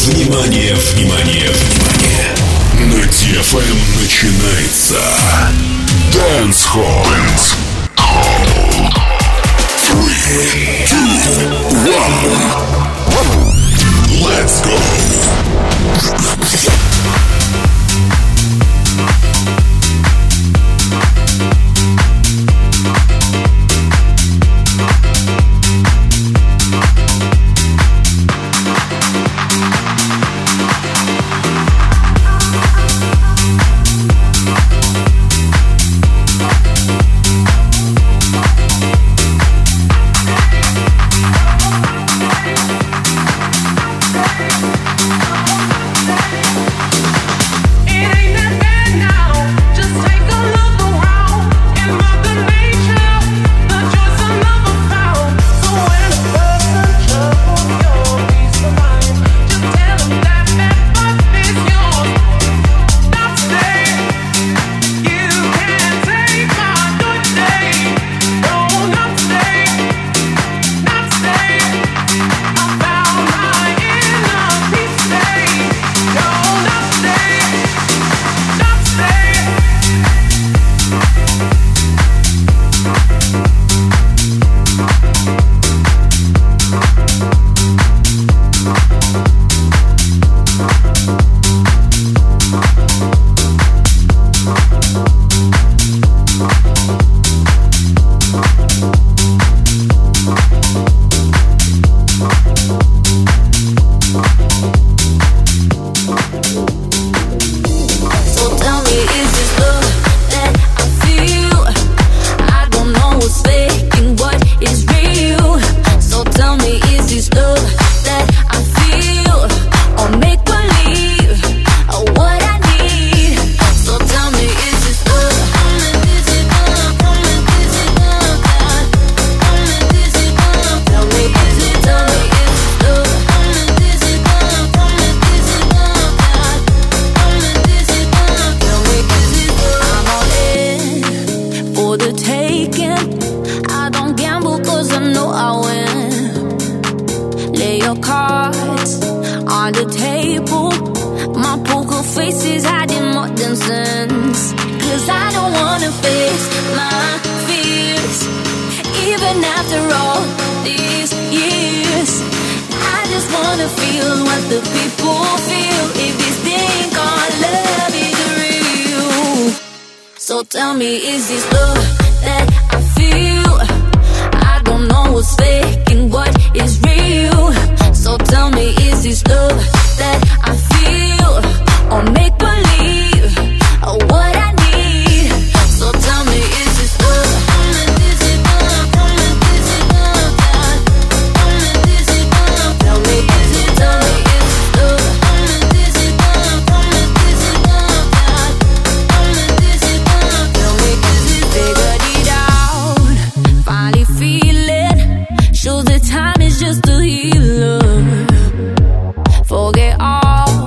Внимание, внимание, внимание! На DFM начинается Dance Hall. 3, 2, 1. Let's go! Tell me, is this love that I feel? I don't know what's fake and what is real. So tell me, is this love that I feel? Or make believe what I need? So tell me, is this love? Is it love? Is it love? Is it love? Tell me, is it love? Is it love? Is it love? Is it love? Figured it out, finally feeling. Shows that time is just a healer. Forget all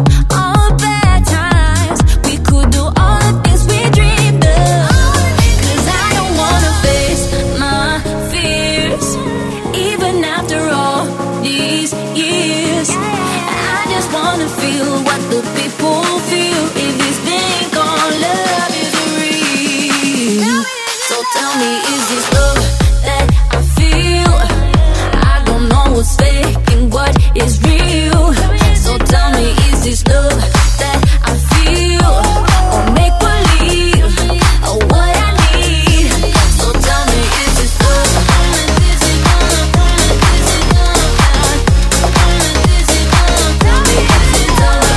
bad times. We could do all the things we dreamed of. 'Cause I don't wanna face my fears, even after all these years. I just wanna feel what the people feel. If this thing called love is real. So tell me, is this love that I feel? I don't know what's fake and what is real. So tell me, is this love that I feel? Or make believe what I need? So tell me, is this love? Is it love? Is it love? Is it love? Tell me, is it love?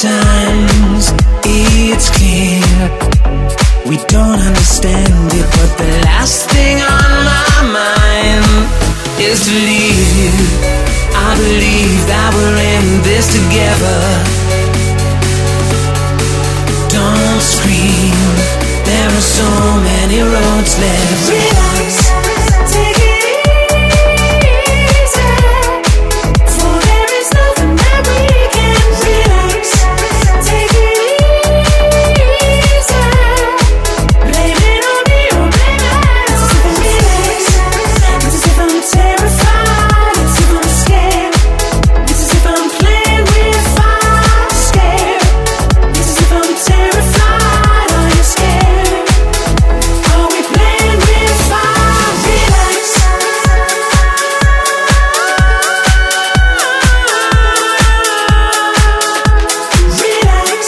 Sometimes it's clear we don't understand it, but the last thing on my mind is to leave you. I believe that we're in this together. Don't scream, there are so many roads left. Relax, take it easy, for there is nothing that we can. Relax, take it easy, blame it on me or blame it. Relax, it's as if I'm terrified, it's as if I'm scared, it's as if I'm playing with fire, scared, it's as if I'm terrified. Are you scared? Are we playing with fire? Relax. Relax.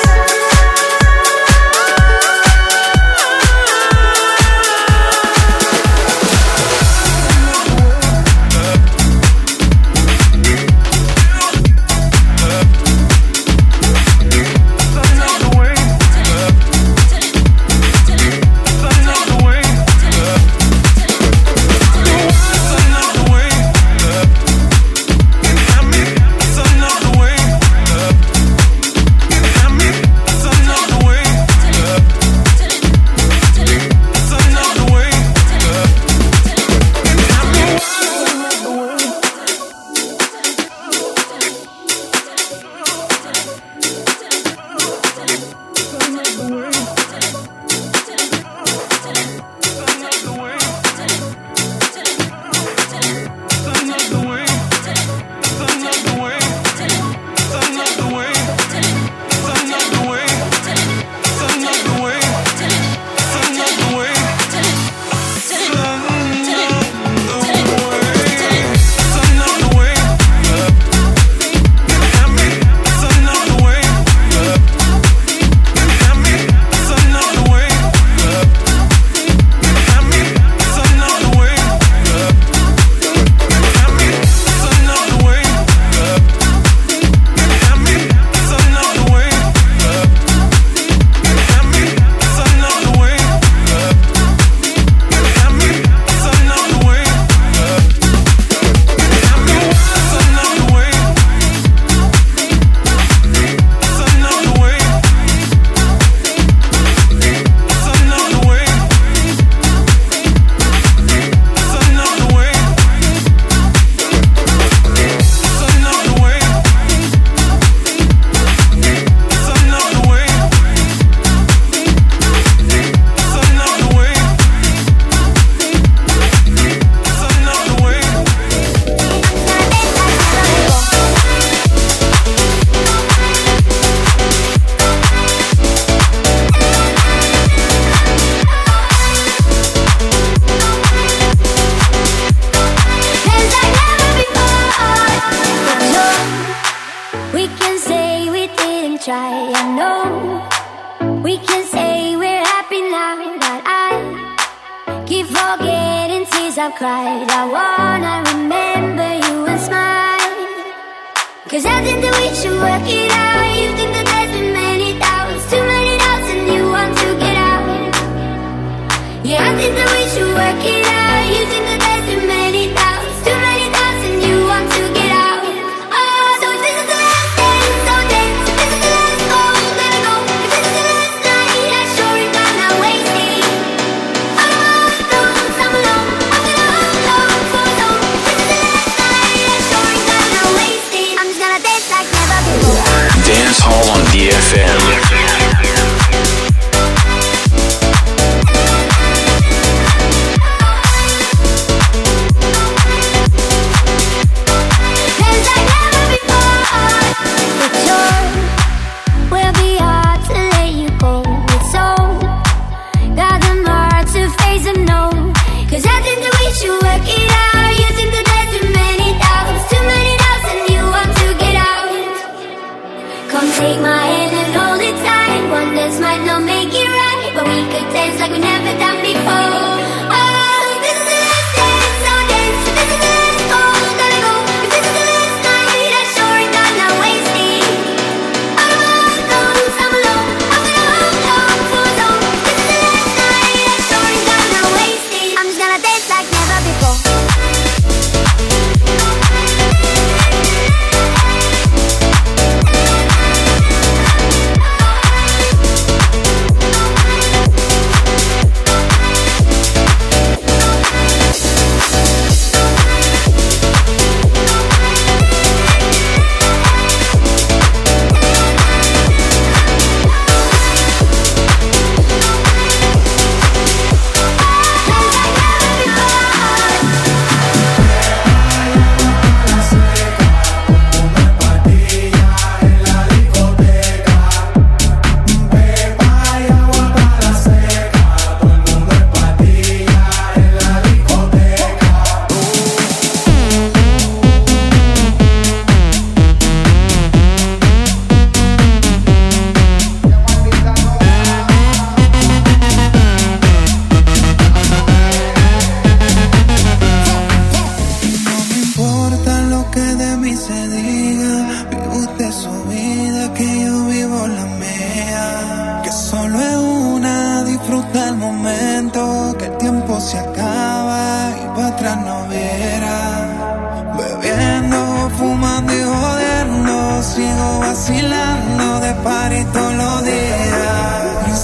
Dance Hall on DFM. Take my hand and hold it tight. One dance might not make it right, but we could dance like we never done before. Oh, this is the last dance, so dance. This is the last call, gotta go. If this is the last night, I sure ain't gonna waste it.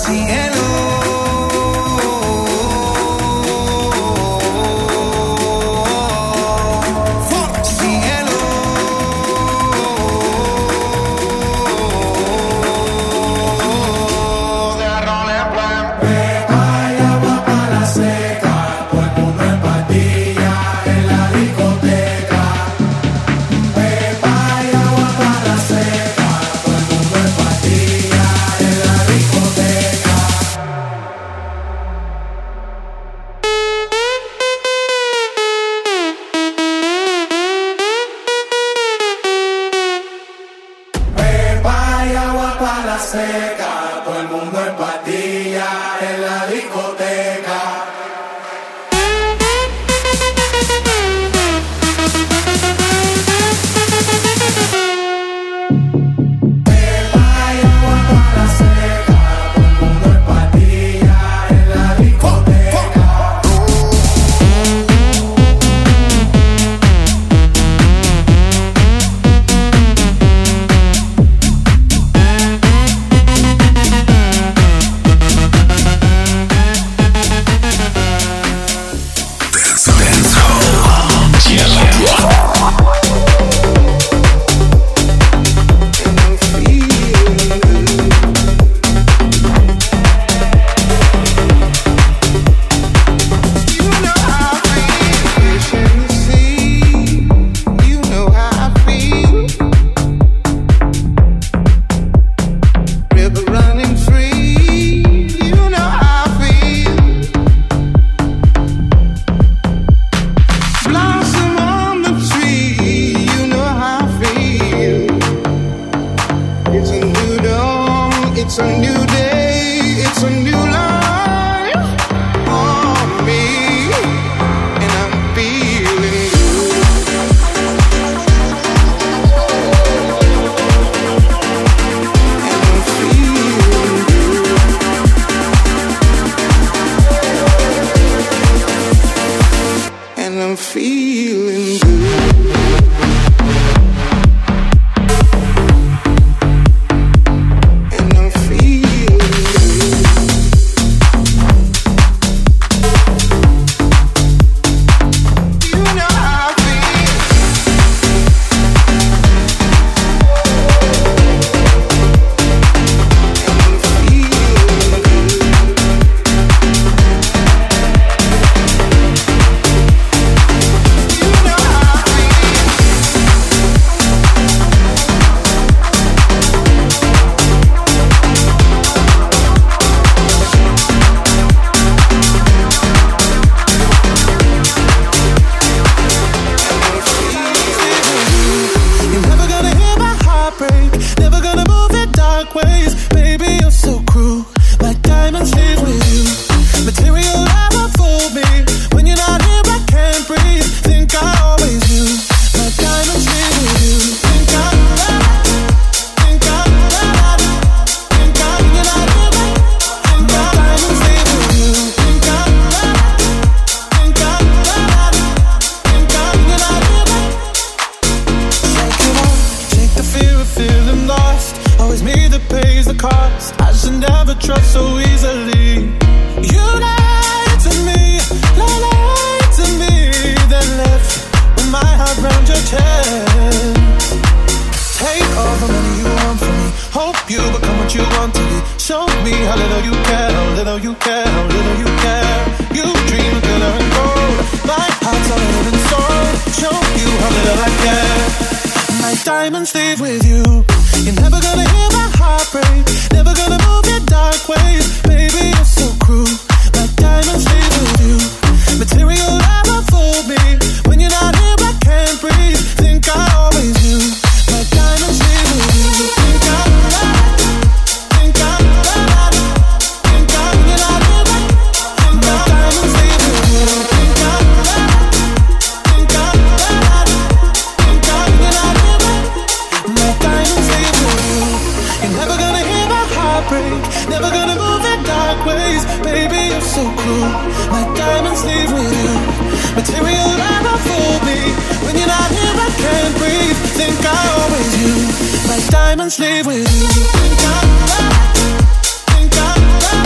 Diamonds leave with you. Think I'm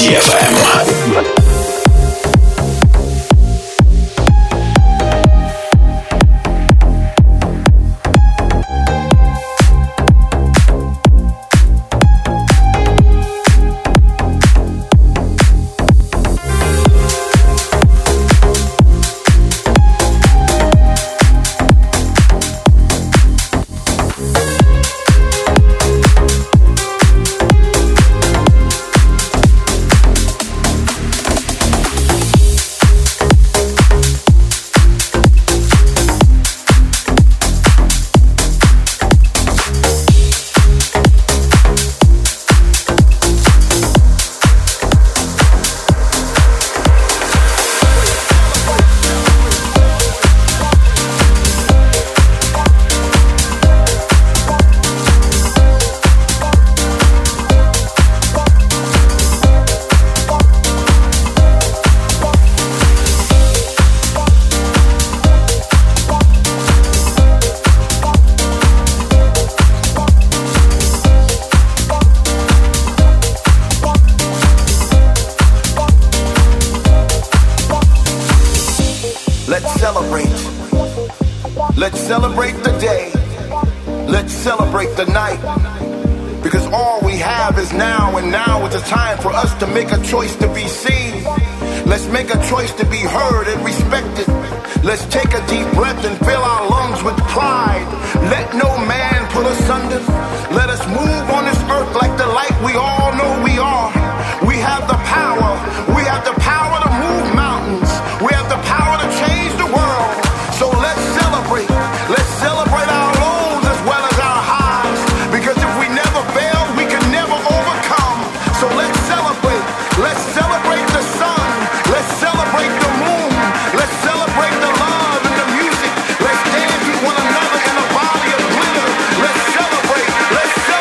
DFM. Let's celebrate the day. Let's celebrate the night. Because all we have is now, and now is the time for us to make a choice to be seen. Let's make a choice to be heard and respected. Let's take a deep breath and fill our lungs with pride. Let no man put us under. Let us move on this earth like the light we all know we are. We have the power. We have the power to move mountains. We have the power to change the world. So let's celebrate. Let's celebrate our lows as well as our highs. Because if we never fail, we can never overcome. So let's celebrate. Let's celebrate the sun. Let's celebrate the moon. Let's celebrate the love and the music. Let's dance with one another in a body of glitter. Let's celebrate. Let's celebrate.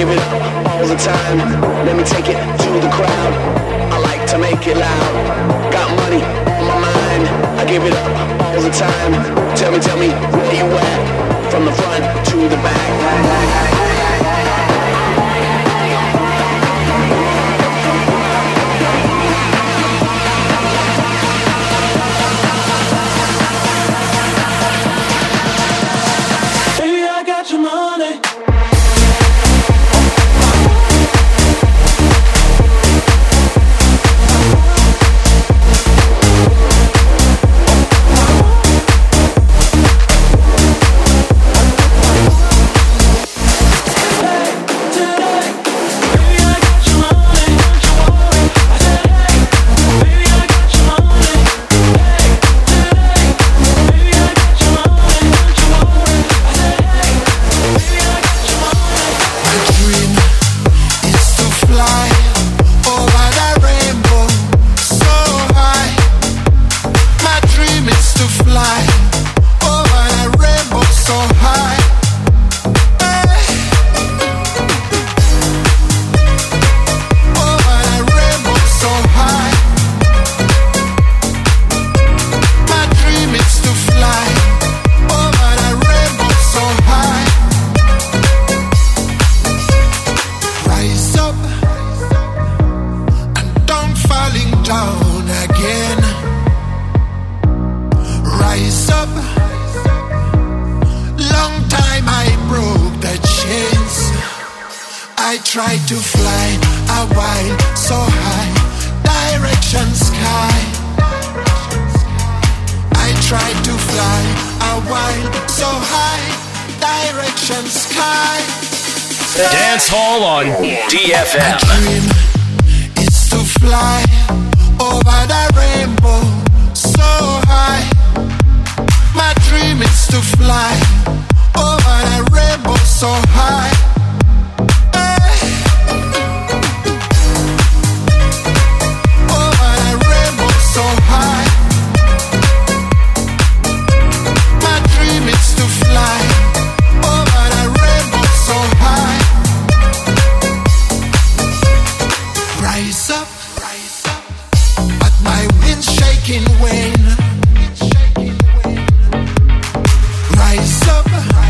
give it all the time. Let me take it to the crowd. I like to make it loud. Got money on my mind. I give it all the time. Tell me where you at? From the front to the back. Dance Hall on DFM. My dream is to fly over the rainbow so high. My dream is to fly over the rainbow so high. Over the rainbow so high. My dream is to fly over the rainbow so high. Rise up, but my wind's shaking wane. Rise up,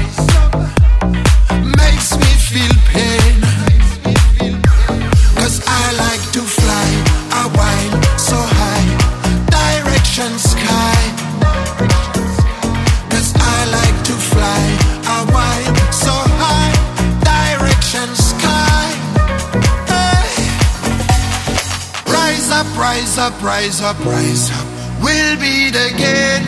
makes me feel pain. 'Cause I like to fly a while so high, direction sky. 'Cause I like to fly a while so high, direction sky. Rise up, rise up, rise up, rise up. We'll beat again.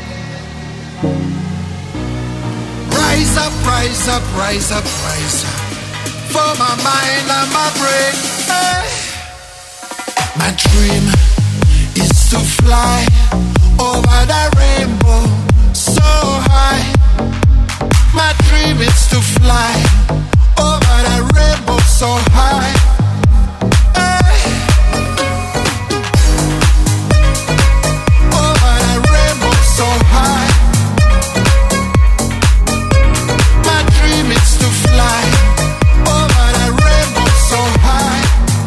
Rise up, rise up, rise up, rise up. For my mind and my brain. Hey. My dream is to fly over the rainbow so high. My dream is to fly over the rainbow so high. So high. My dream is to fly over the rainbow so high.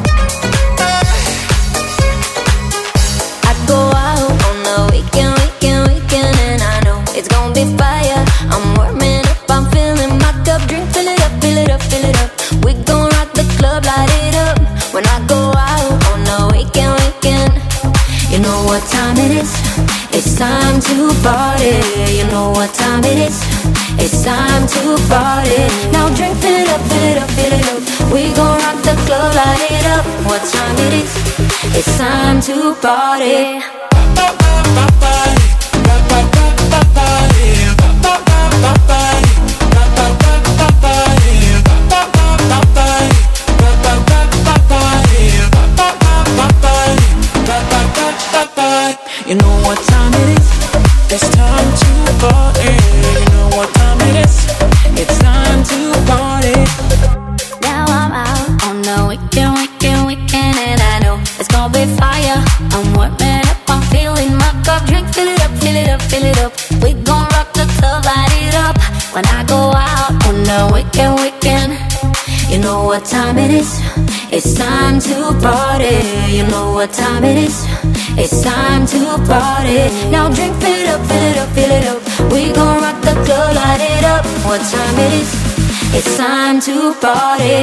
I go out on the weekend, and I know it's gonna be fire. I'm warming up, I'm filling my cup, drink, fill it up, fill it up, fill it up. We gon' rock the club, light it up. When I go out on the weekend, you know what time it is. It's time to party, you know what time it is. It's time to party. Now drink, fill it up, fill it up, fill it up. We gon' rock the club, light it up. What time it is? It's time to party. You know what time it is? It's time to party. You know what time it is? It's time to party. Now I'm out on the weekend, and I know it's gonna be fire. I'm warming up, I'm feeling my cup, drink, fill it up, fill it up, fill it up. We gon' rock the club, light it up. When I go out on the weekend, you know what time it is. It's time to party. You know what time it is. It's time to party. Now drink, fill it up, fill it up, fill it up. We gon' rock the club, light it up. What time it is. It's time to party.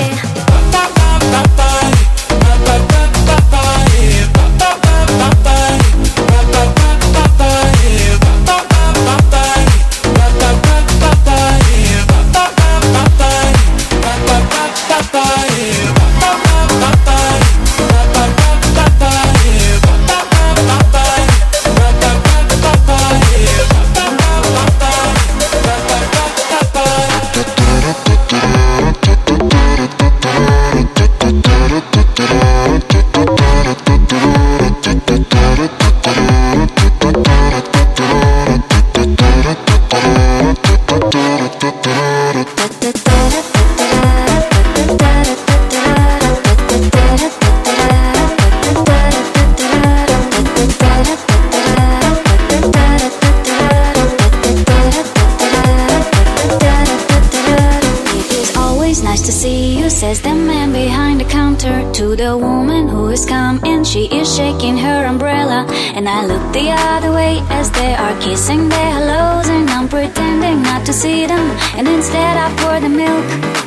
Says the man behind the counter to the woman who is coming. She is shaking her umbrella, and I look the other way as they are kissing their hellos, and I'm pretending not to see them, and instead I pour the milk.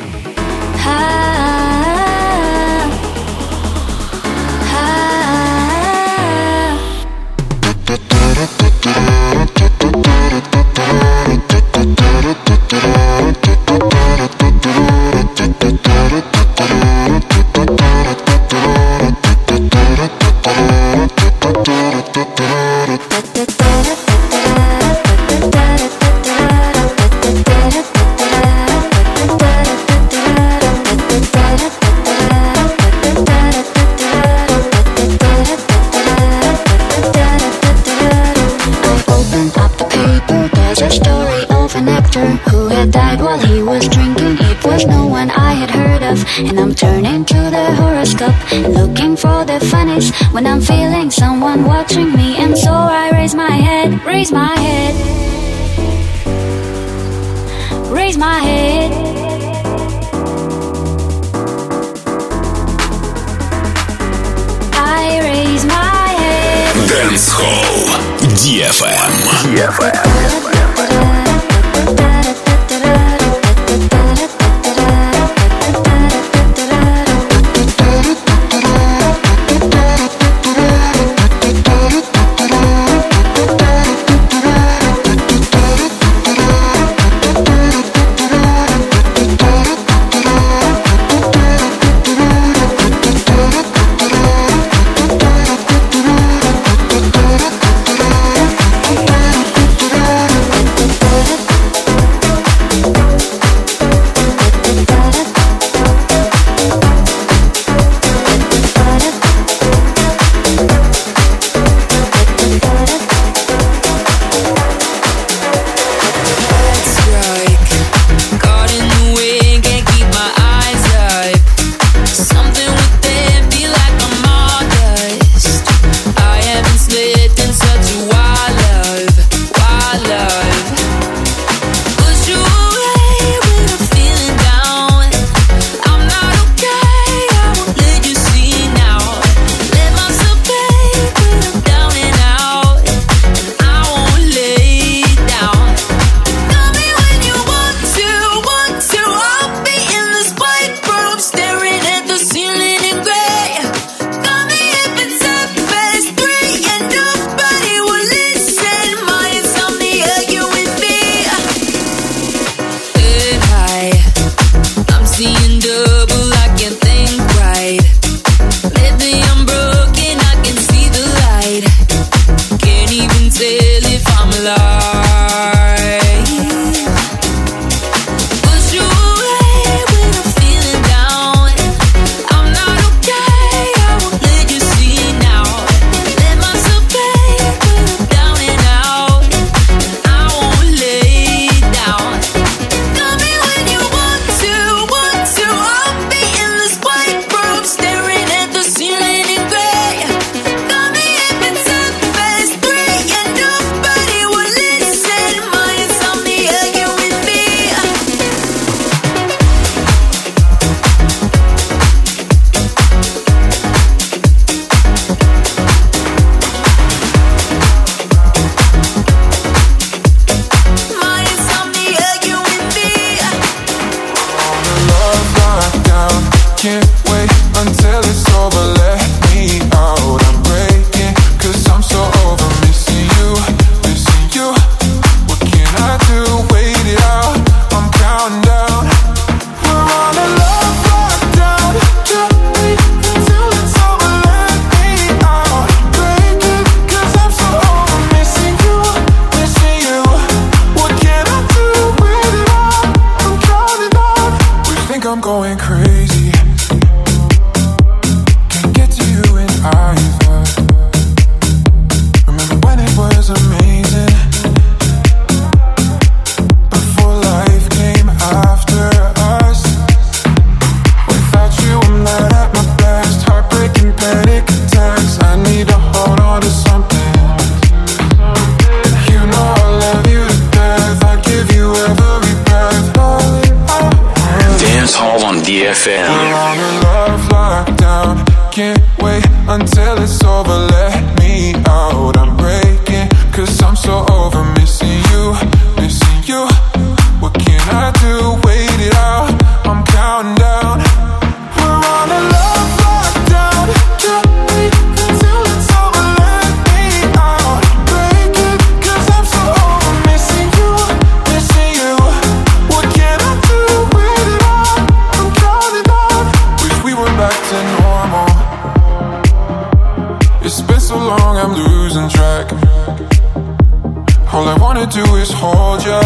Who had died while he was drinking. It was no one I had heard of. And I'm turning to the horoscope and looking for the funnies when I'm feeling someone watching me. And so I raise my head, raise my head, raise my head. I raise my head. Dance Hall DFM. until it's over. Let me out, I'm breaking, 'cause I'm so over missing you, missing you. What can I do? Wait it out, I'm counting down. We're on a love lockdown. Can't wait until it's over. Let me out, breaking, 'cause I'm so over missing you, missing you. What can I do? Wait it out, I'm counting down. Wish we were back to normal. It's been so long, I'm losing track. All I wanna do is hold ya,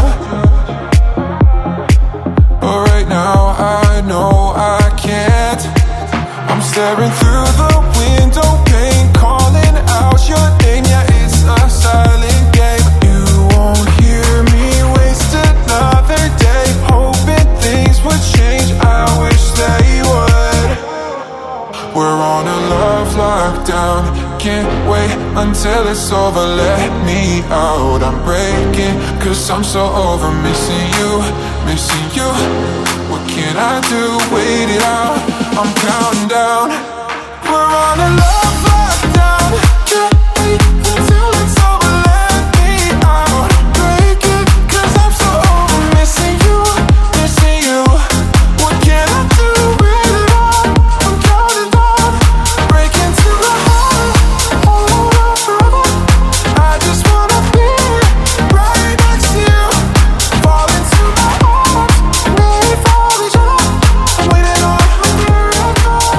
but right now I know I can't. I'm staring through the window pane, calling out your name. Yeah, it's a silent game. You won't hear me waste another day, hoping things would change. I wish they would. We're on a love lockdown. Can't wait until it's over. Let me out, I'm breaking, 'cause I'm so over missing you, missing you. What can I do? Wait it out, I'm counting down. We're on a love lockdown. Can't wait until it's over. Let me out, breaking, 'cause I'm so over missing you, missing you. What can I do? Wait it out, I'm counting down. Breaking to the heart, hold on forever. I just wanna be right next to you. Fall into my arms, made for each other. I'm waiting on a miracle.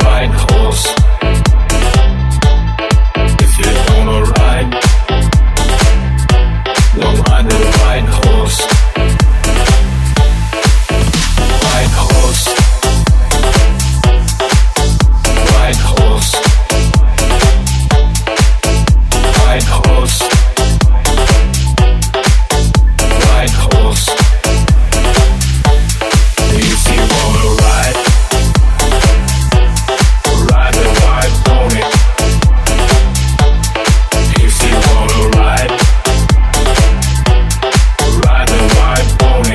white horse. If you wanna ride, we'll ride the white horse. White horse. White horse. White horse. White horse. If you wanna ride, ride the white pony. If you wanna ride, ride the white pony.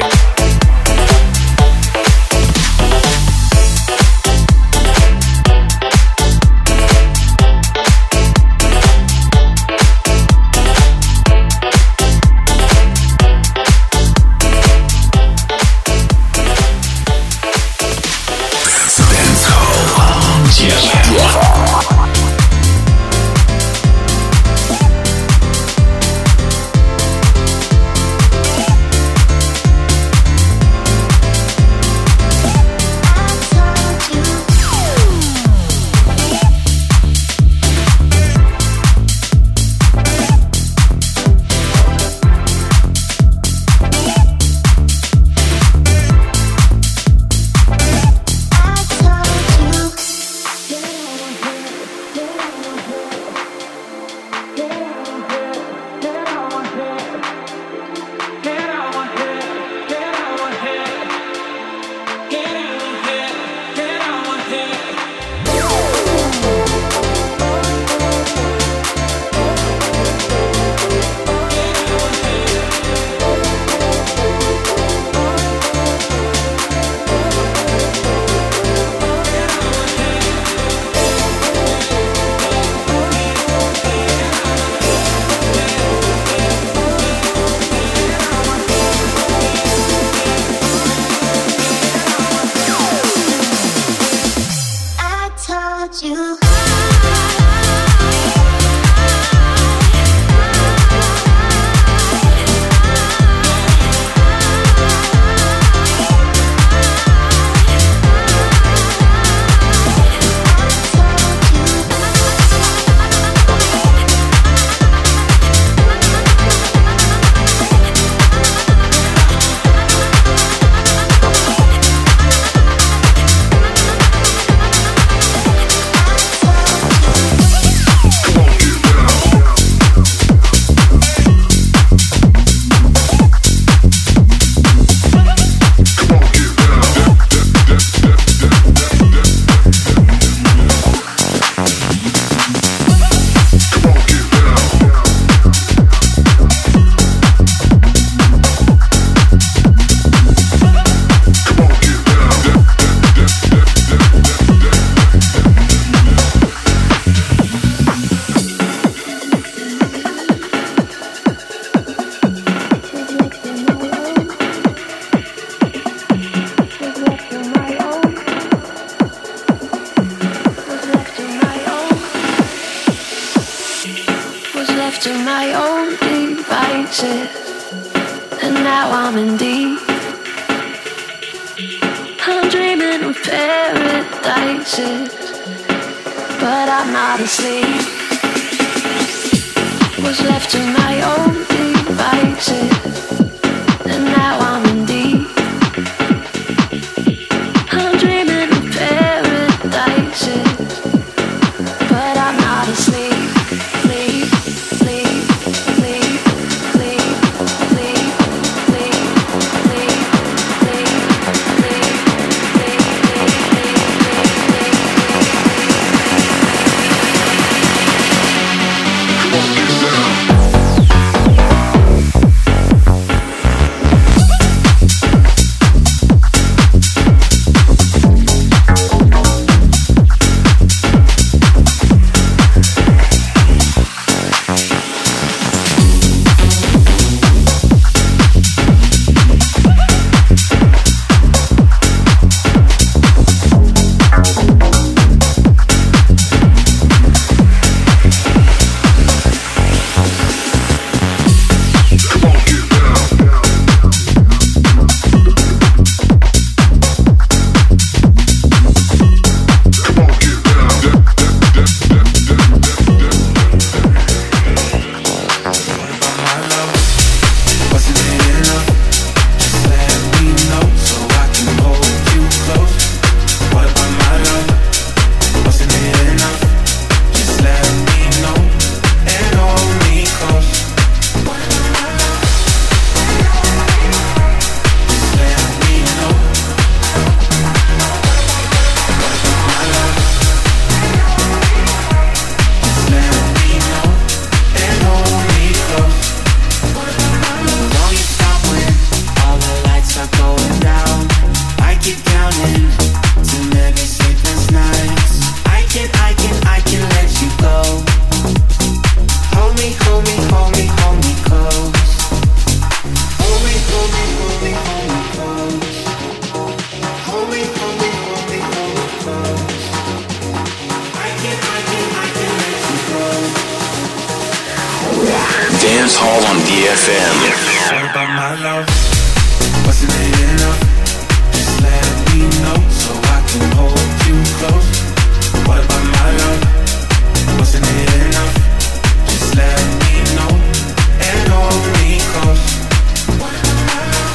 Dance Hall on DFM. What about my love? Wasn't it enough? Just let me know so I can hold you close. What about my love? Wasn't it enough? Just let me know and hold me close. What about my love?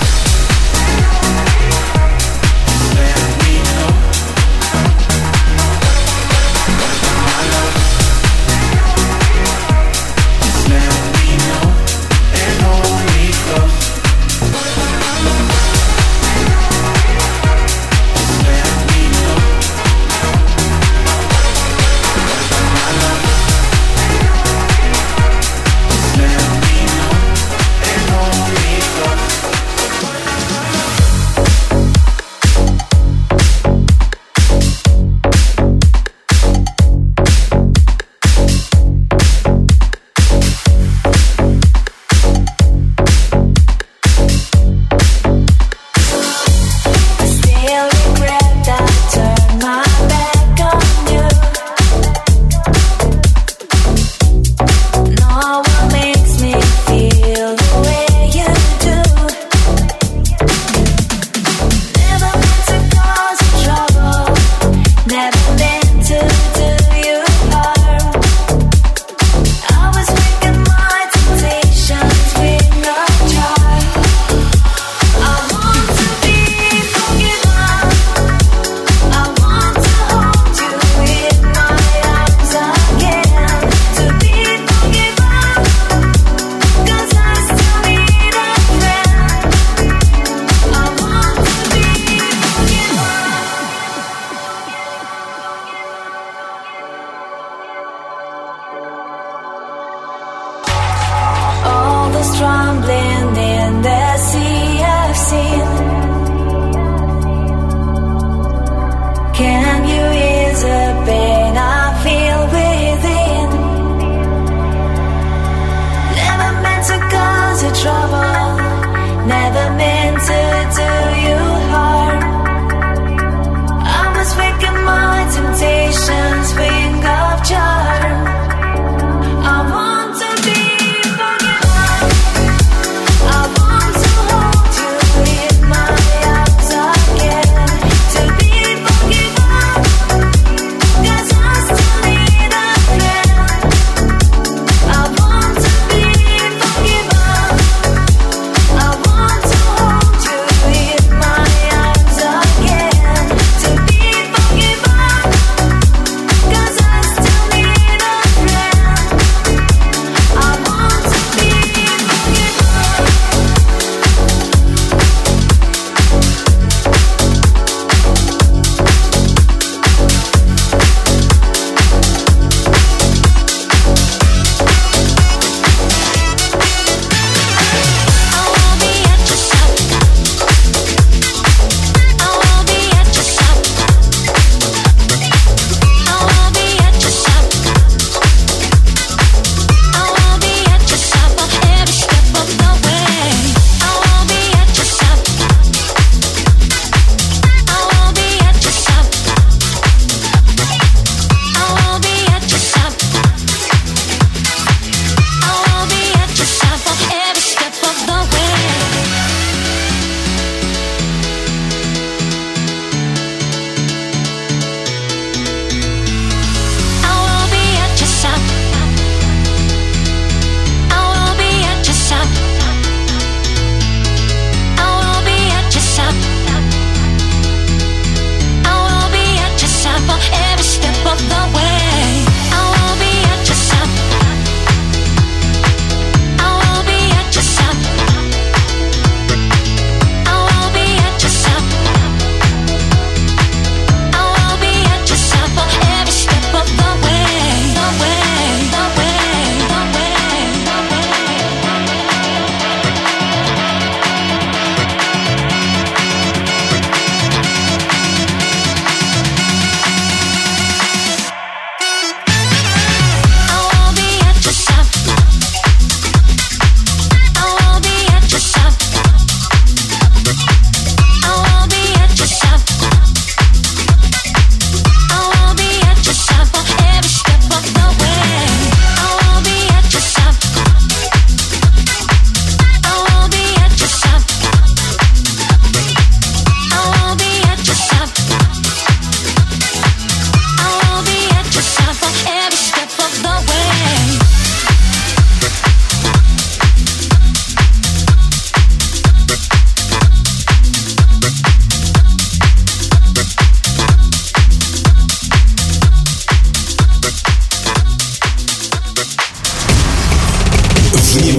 Just let me know. What about my love? Just let me know and hold me close. Just let me know.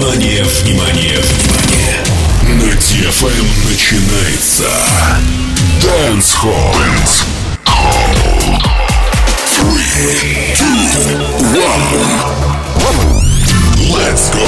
Внимание, внимание, внимание! На DFM начинается Dance Hall. 3, 2, 1. Let's go!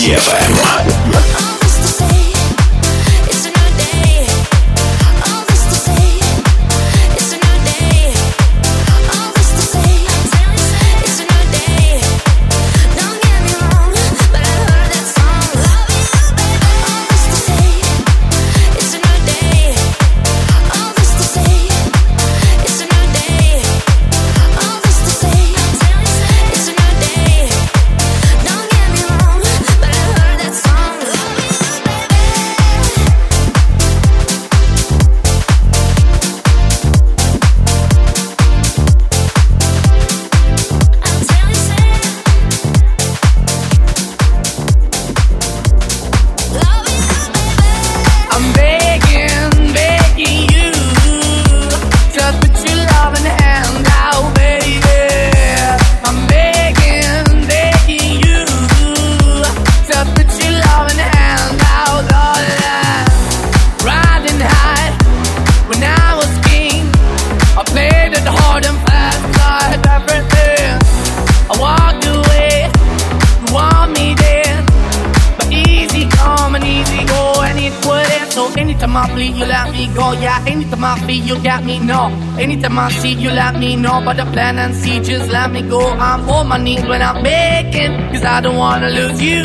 DFM. You got me, no. Anytime I see you, let me know. But the plan and see, just let me go. I'm on my knees when I'm begging, cause I don't wanna lose you.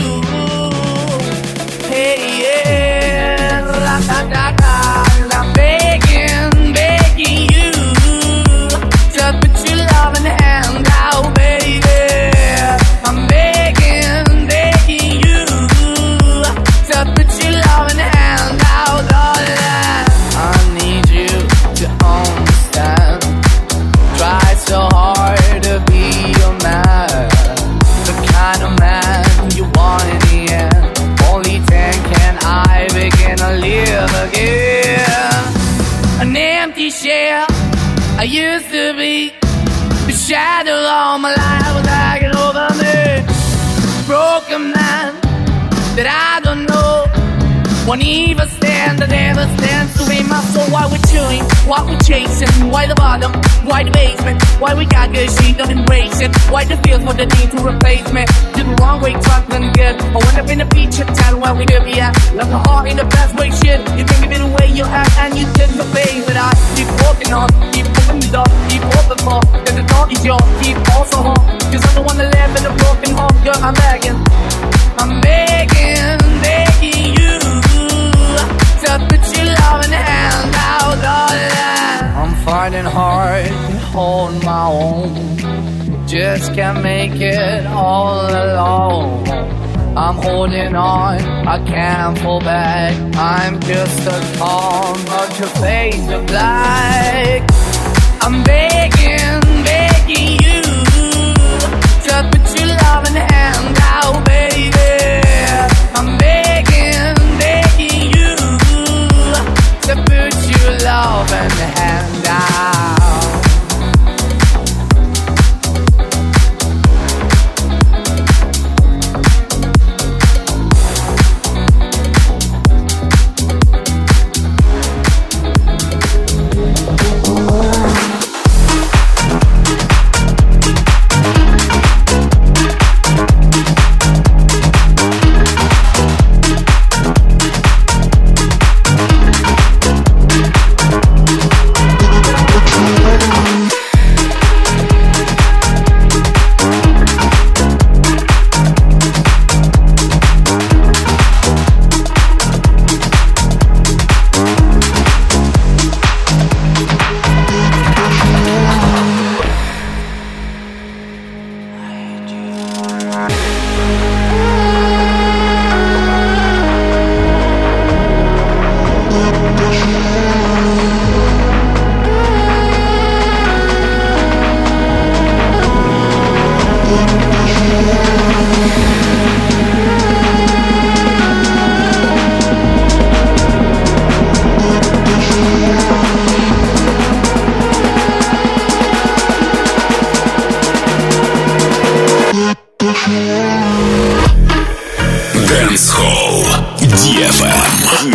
Hey, yeah, la da da da. I'm begging, begging you to put your love in the hand out, baby. I'm begging, begging you to put your love in the hand out, darling. I need you to understand. Try so hard to be your man, the kind of man you want in the end. Only then can I begin to live again. An empty shell I used to be. The shadow all my life was hanging over me. Broken man that I don't know. Won't even stand, I never stand to be my soul. Why we chewing, why we chasing, why the bottom, why the basement, why we got good, she don't embrace it. Why the feel for the need to replace me? Did the wrong way, trying to good. I went up in the feature town where we could be at. Left the heart in the best way, shit. You can give it away, you act and you take the face. But I keep walking on, keep opening the door, keep open for. Cause the door is yours, keep also home. Cause I'm the one that live in a broken home, girl, I'm begging. I'm begging, begging you to put your love in the hand out, darling. I'm finding hard to hold my own. Just can't make it all alone. I'm holding on, I can't fall back. I'm just a call, but your face is black. I'm begging, begging you to put your love in the hand out, baby. I'm begging, begging you to put your love in the hand out. Dancehall DFM.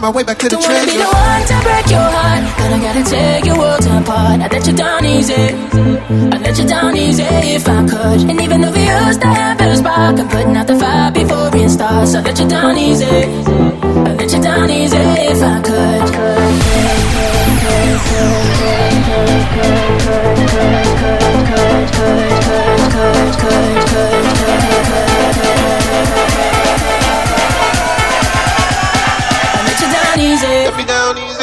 find my way back to the Don't wanna be treasure. the one to break your heart, but I gotta tear your world apart. I let you down easy, I let you down easy if I could. And even though we used to have a spark, I'm putting out the fire before it starts. I let you down easy, I let you down easy if I could. I let you down easy. Let me down easy.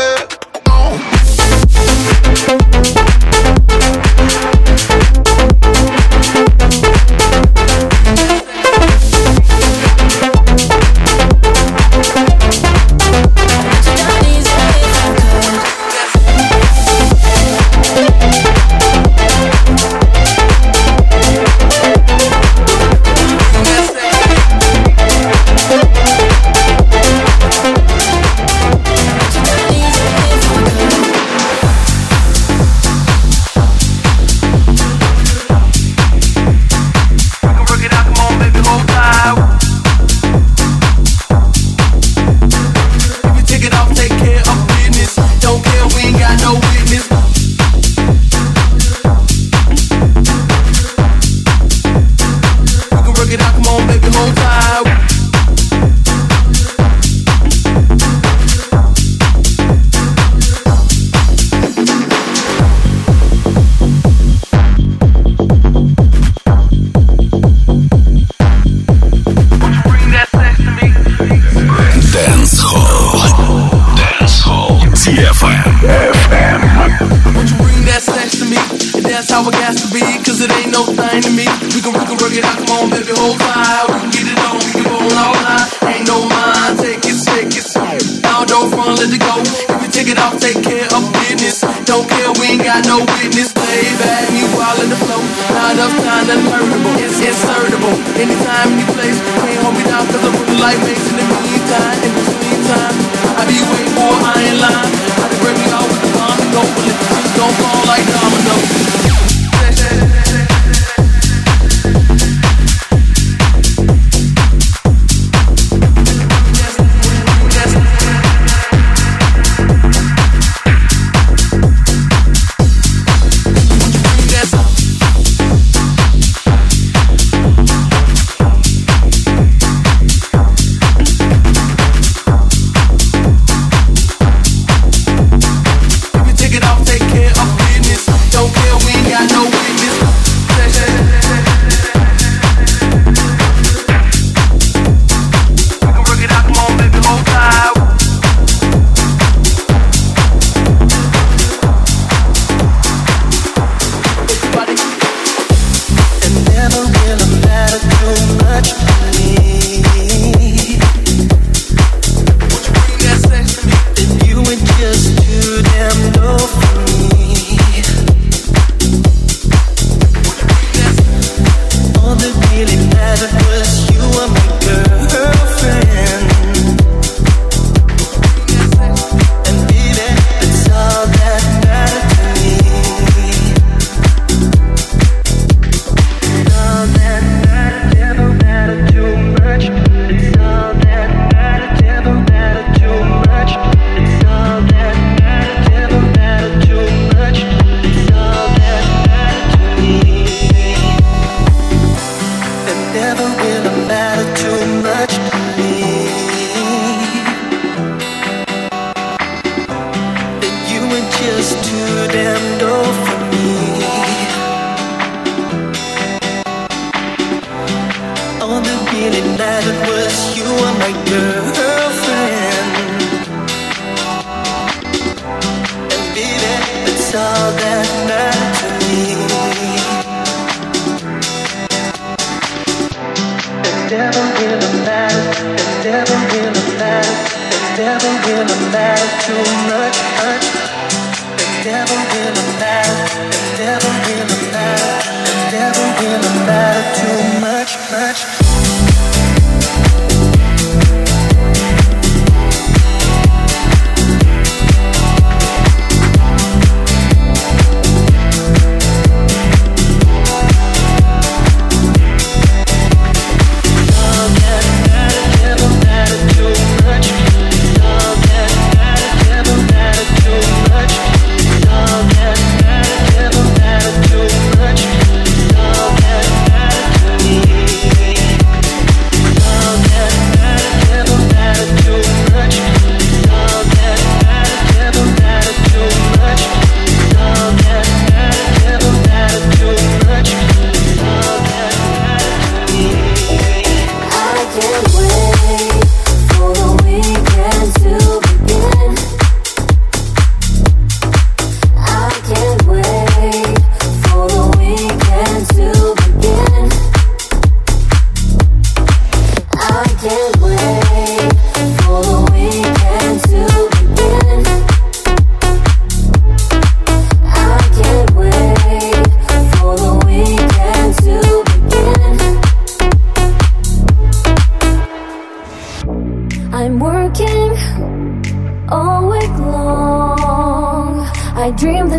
All that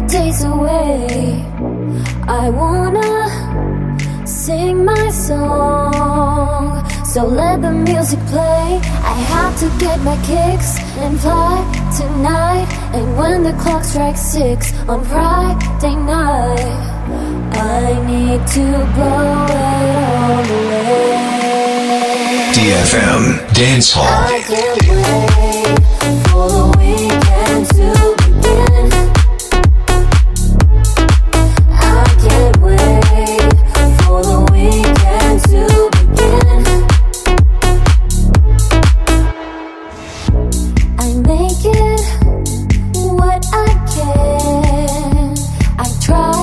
days away. I wanna sing my song, so let the music play. I have to get my kicks and fly tonight. And when the clock strikes 6 on Friday night, I need to blow it all away. DFM Dance Hall. I can't wait for the weekend to begin. I can't wait for the weekend to begin. I make it what I can. I try.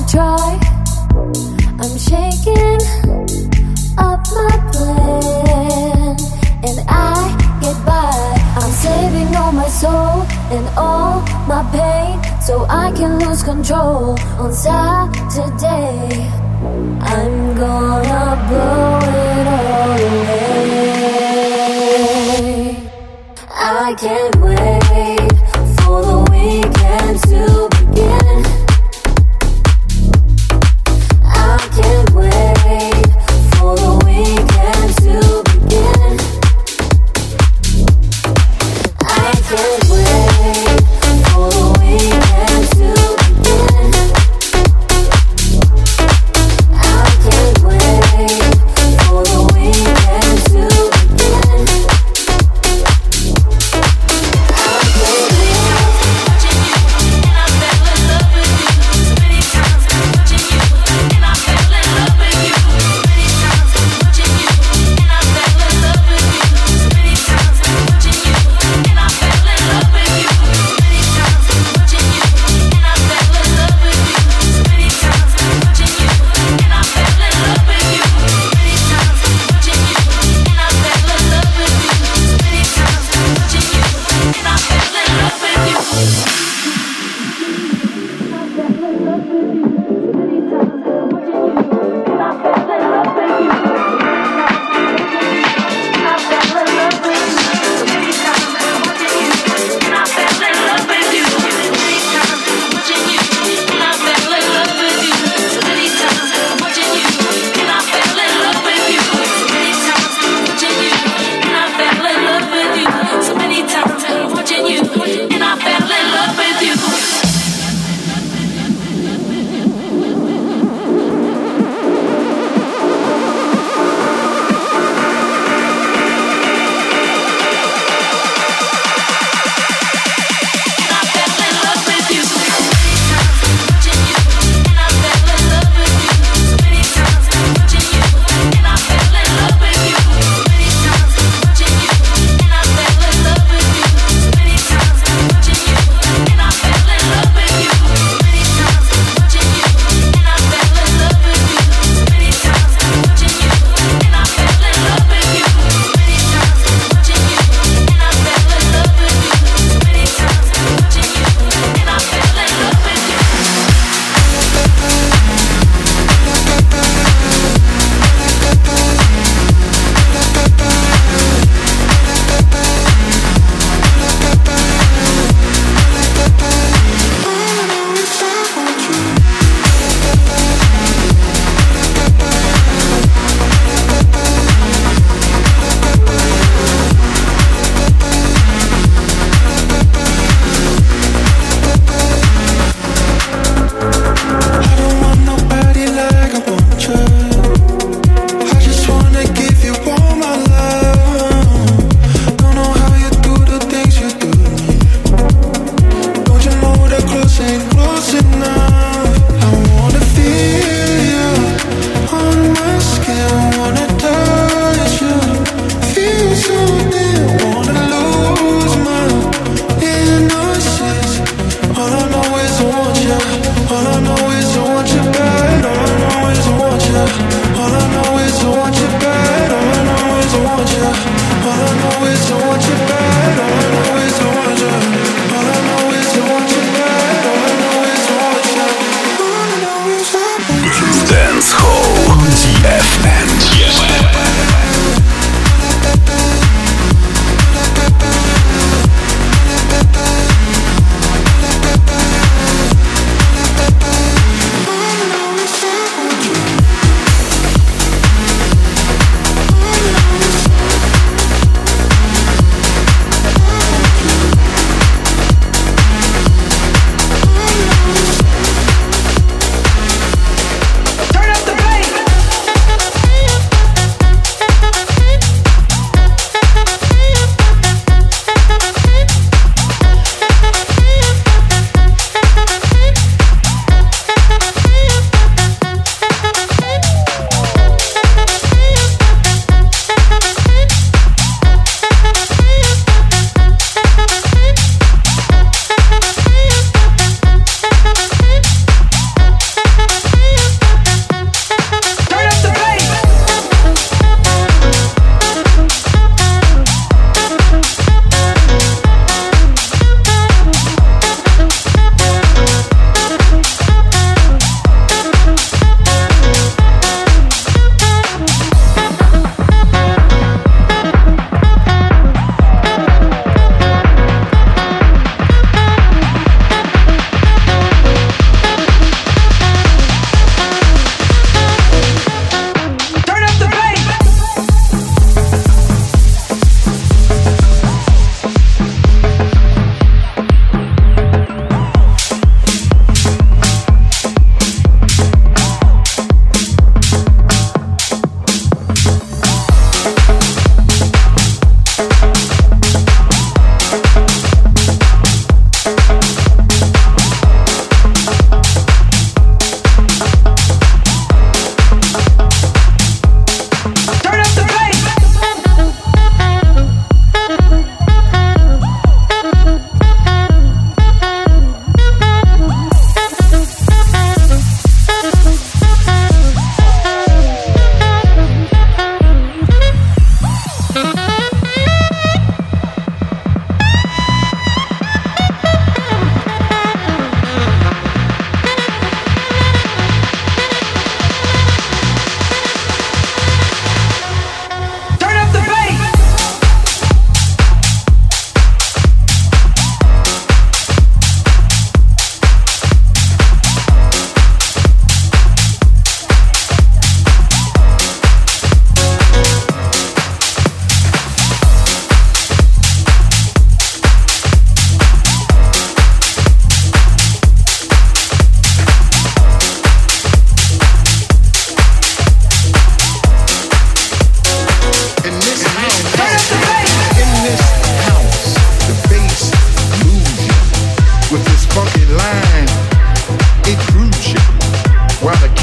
I'm shaking up my plan, and I get by. I'm saving all my soul and all my pain, so I can lose control on Saturday. I'm gonna blow it all away. I can't wait for the weekend to begin. I can't wait for the weekend to begin. I can't wait for the weekend to begin. I can't wait for the weekend to begin. I can't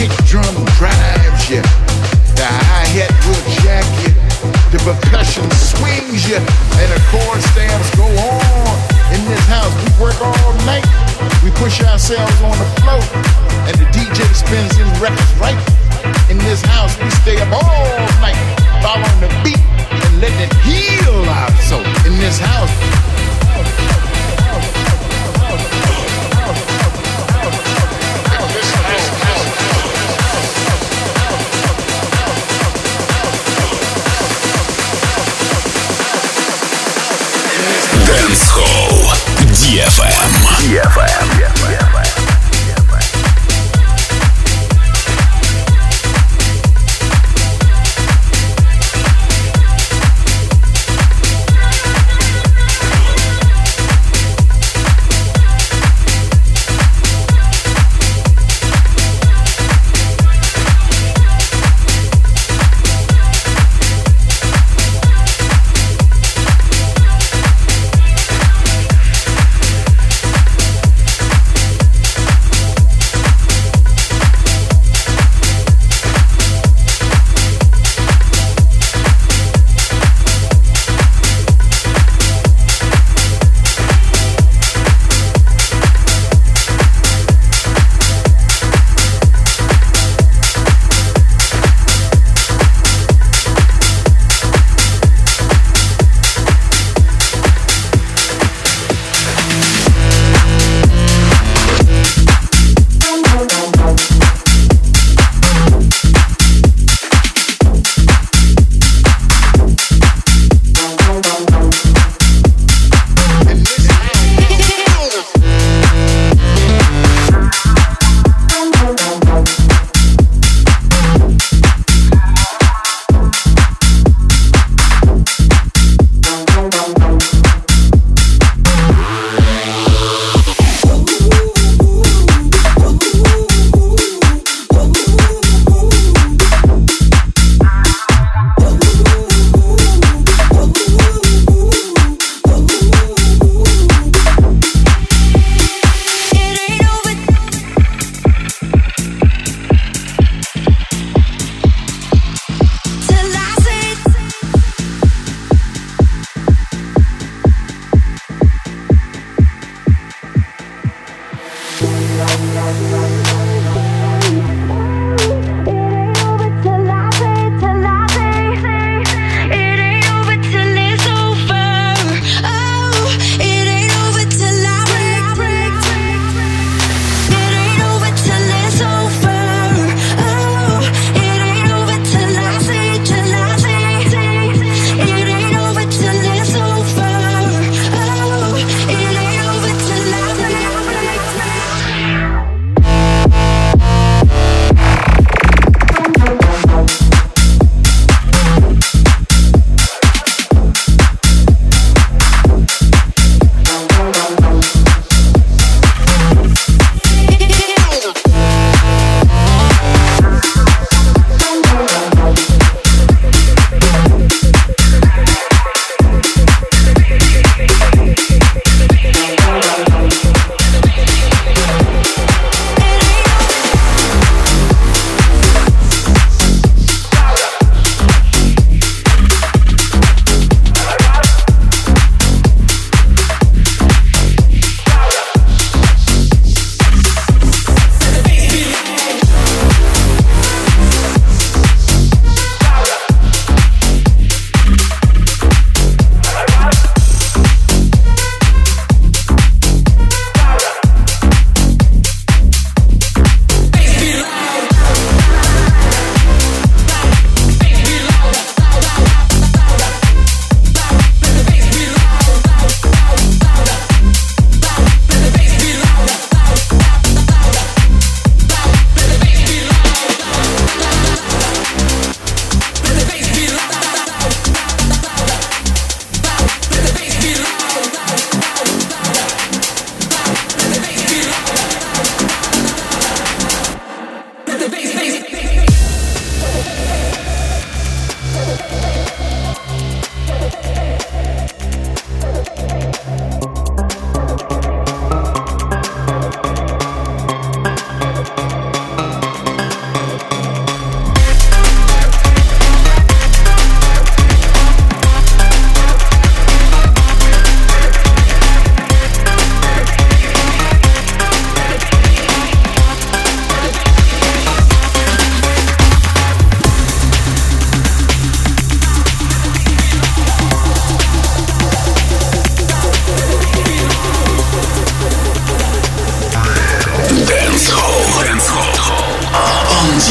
kick drum drives you, the hi-hat will jack you, the percussion swings you, and the chord stamps go on. In this house, we work all night. We push ourselves on the floor, and the DJ spins his records right. In this house, we stay up all night, following the beat and letting it heal our soul. In this house. Dancehall DFM.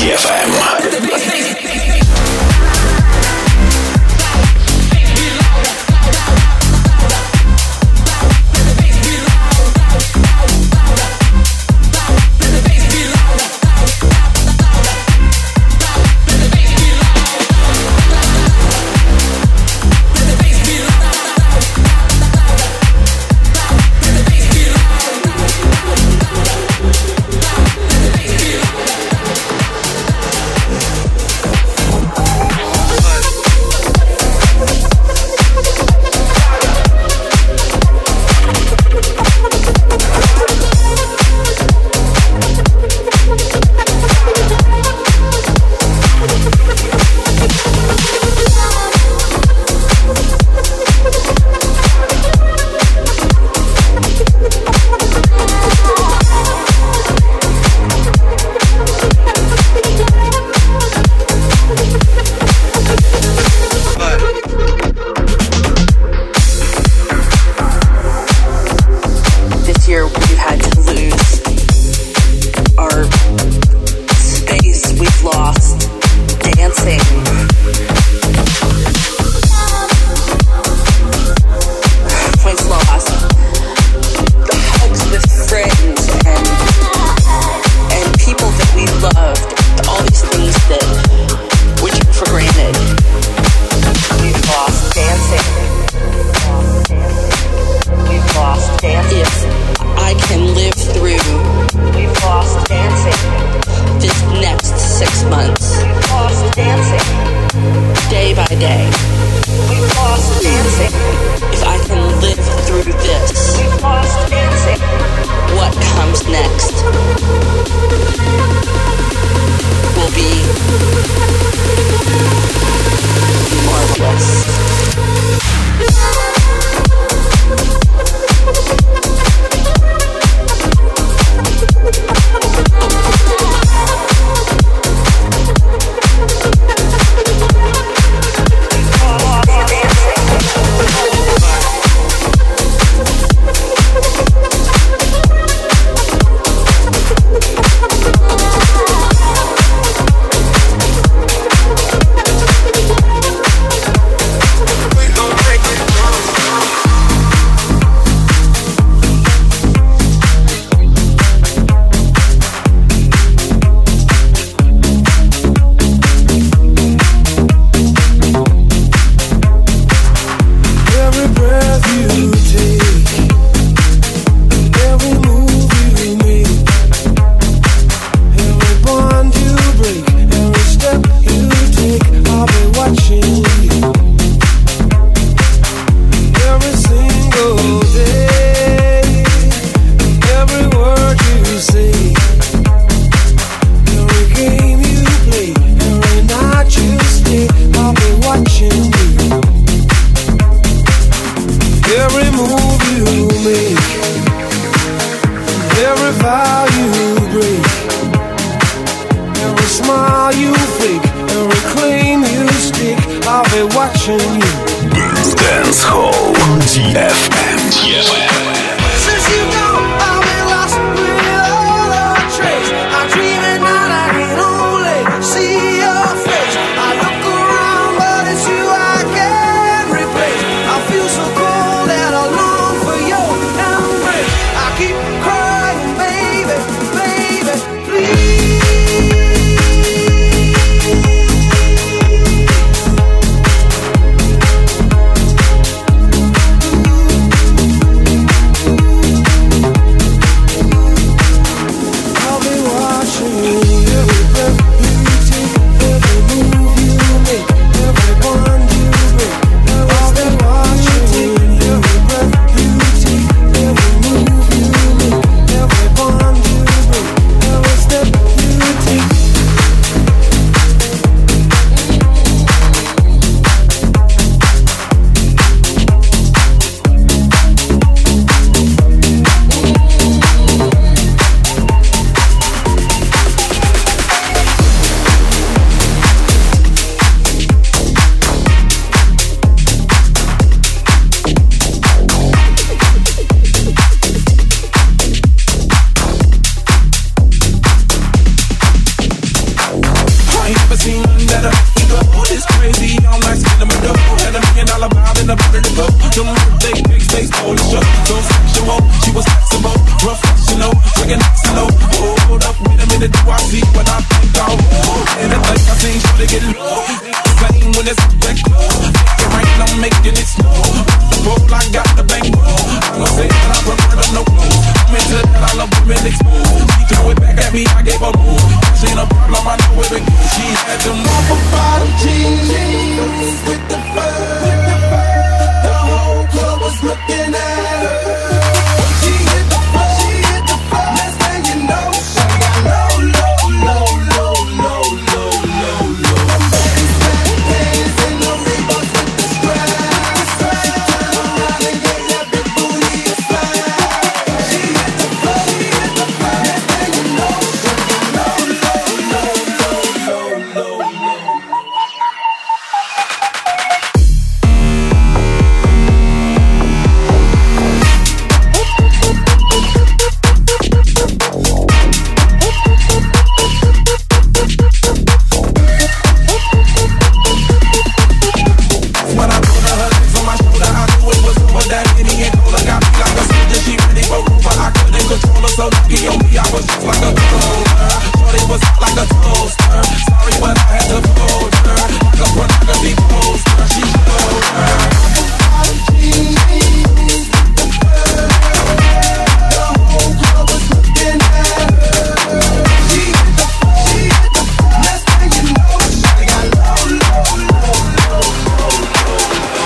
DFM. me, I gave her room. Seen a problem, I know it begins. She had them upper bottom jeans with the fur. The whole club was looking at her. She hit the floor, next thing you know, she got low, low, low, low, low, low, low, low. Them babies back hands in the Reeboks with the straps. She turned around and gave that big booty a slap. She hit the floor, next thing you know, she got low, low, low, low, low, low, low. When I put her legs on my shoulder, I knew it was over. That Henny and Cola got me like a soldier. She ready for war, but I couldn't control her. So lucky on me, I was just like a controller. Shorty was hot like a toaster. Sorry, but I had to fold her like a pornography poster. She showed her. The whole club was looking at her. She hit the floor, next thing you know, she got low, low, low, low, low, low.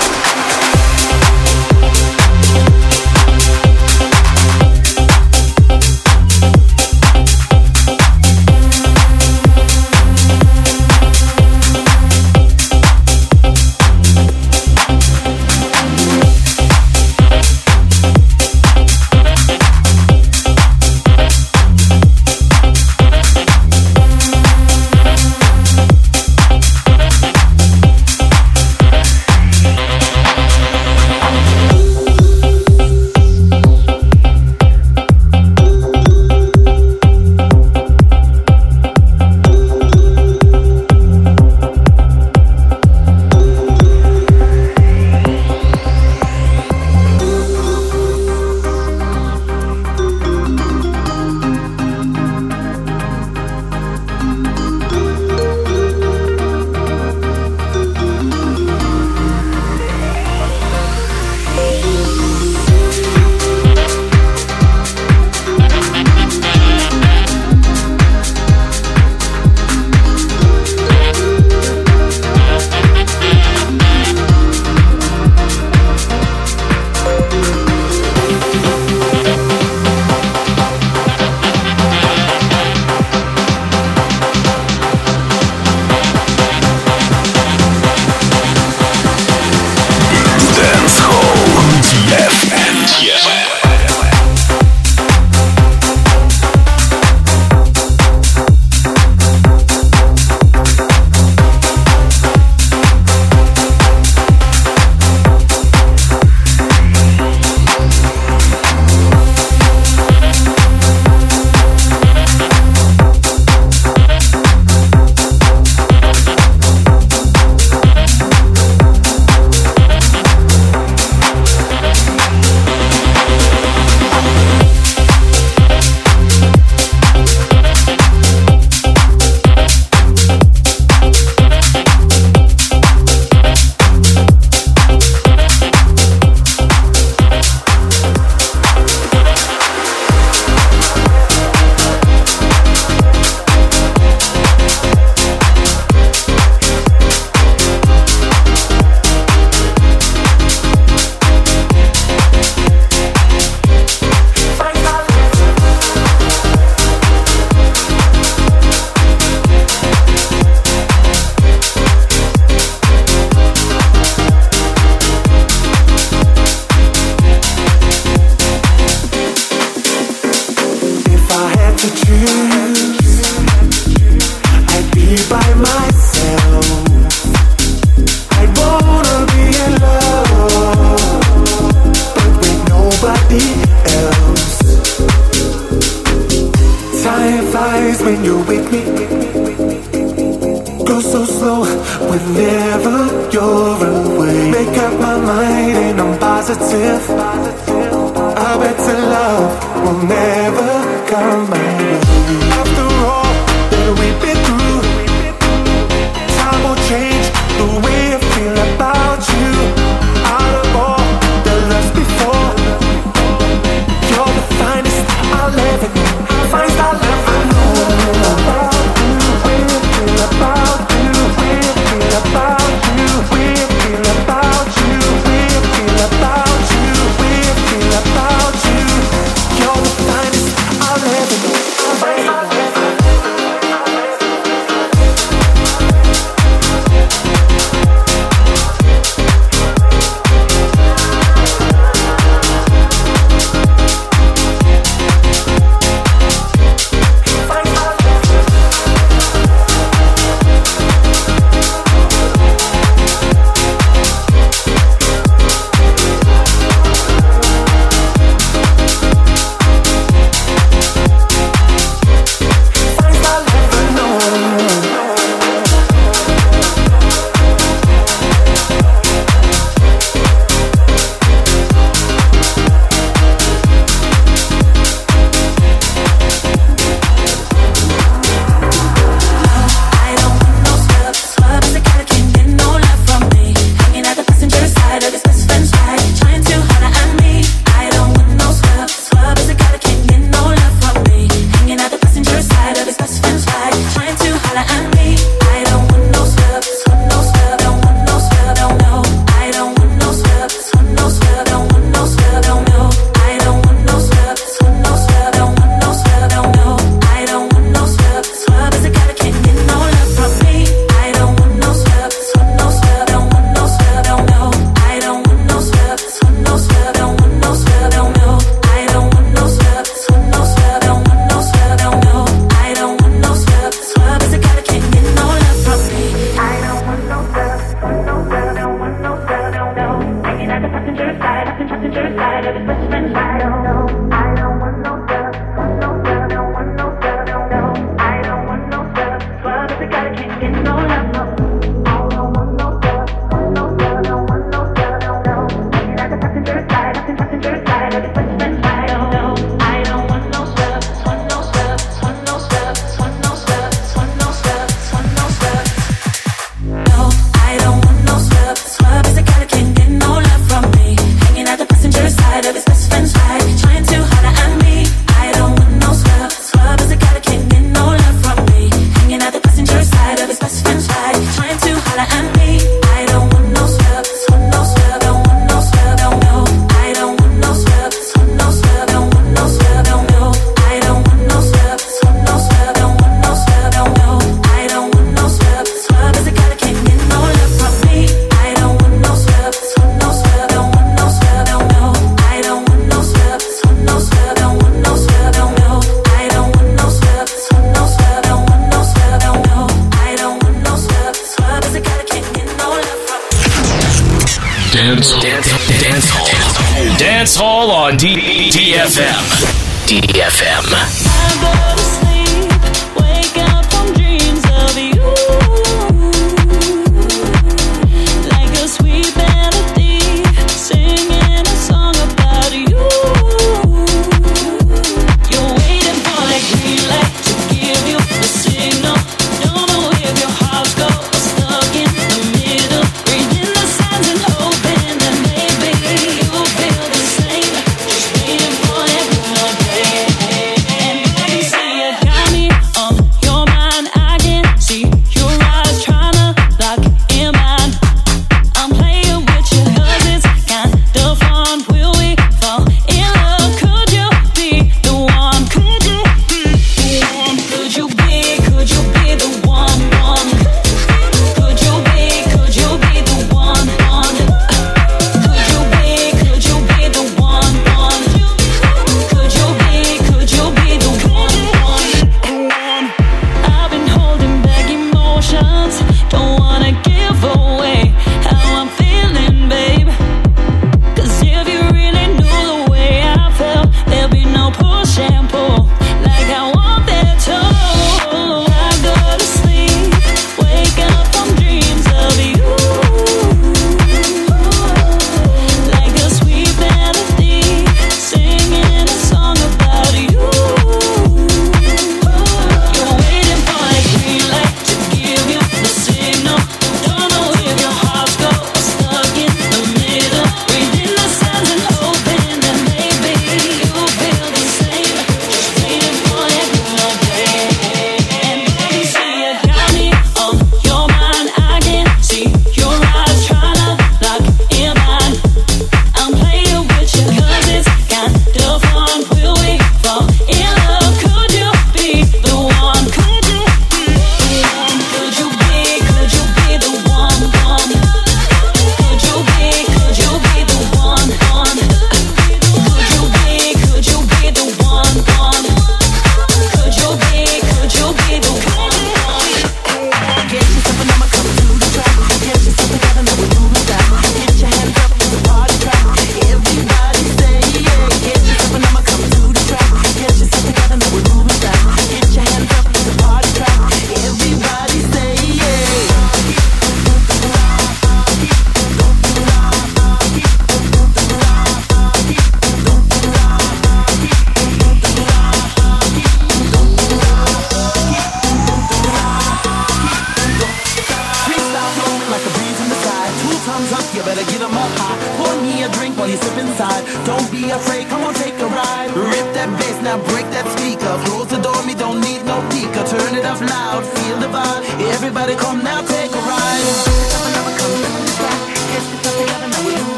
whenever you're away. Make up my mind and I'm positive. I bet the love will never come my way. After all that we've been through, time will change the way I feel about you. Out of all the loves before, you're the finest I'll ever know. Finest I'll ever know. Dance Hall. Dance Hall on DFM. DFM.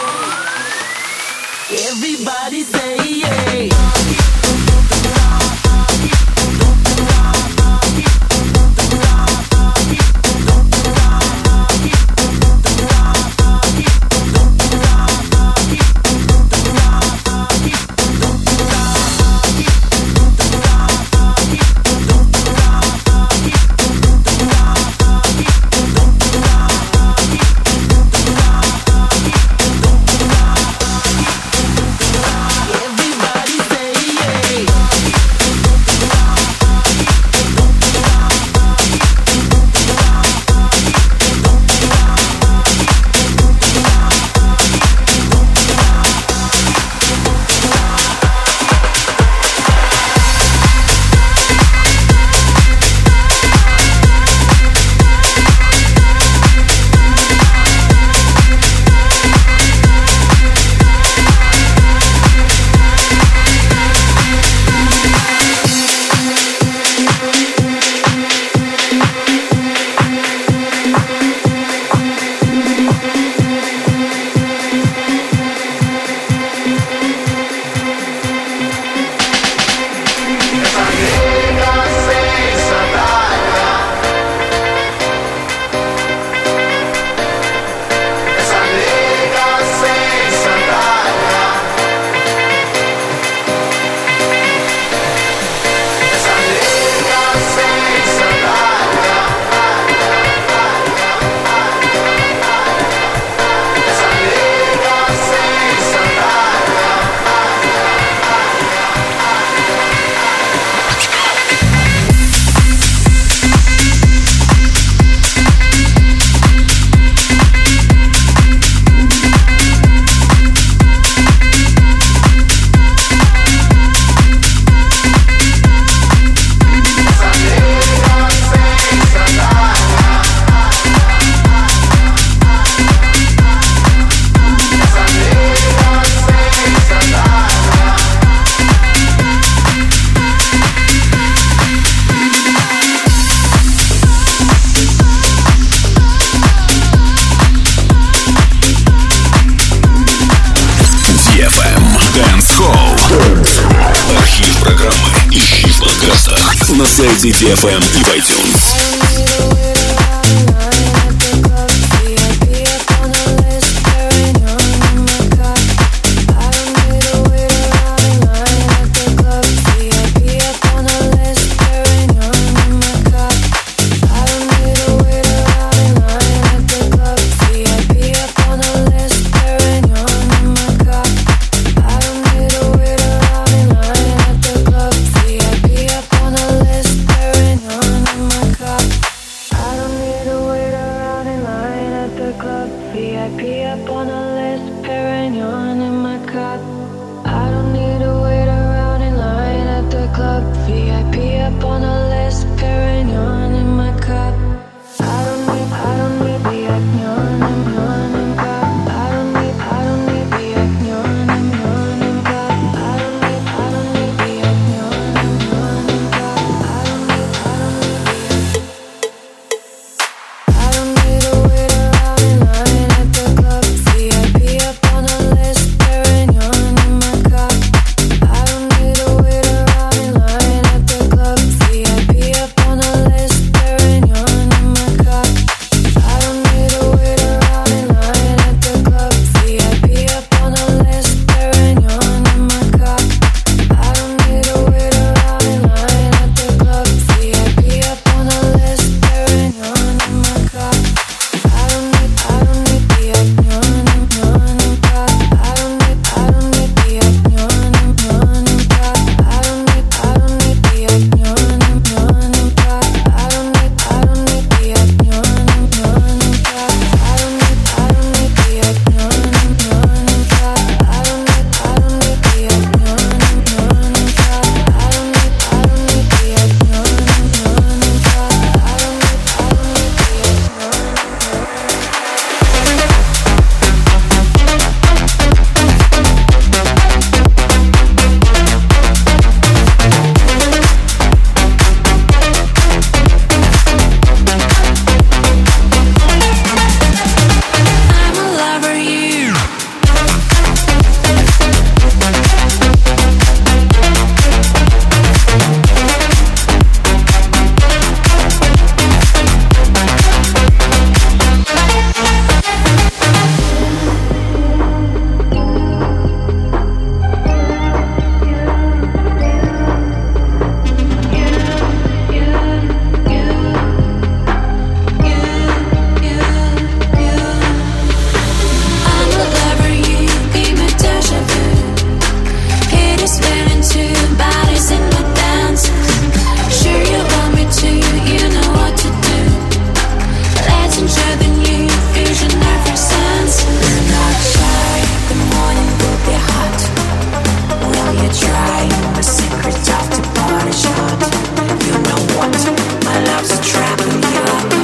Everybody say yeah. сайте DFM и в iTunes.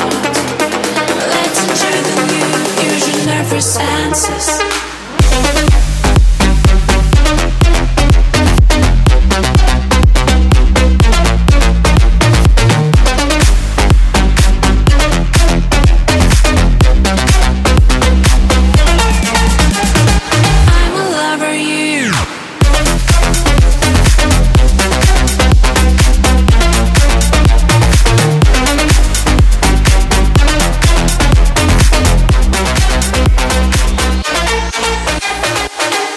Senses.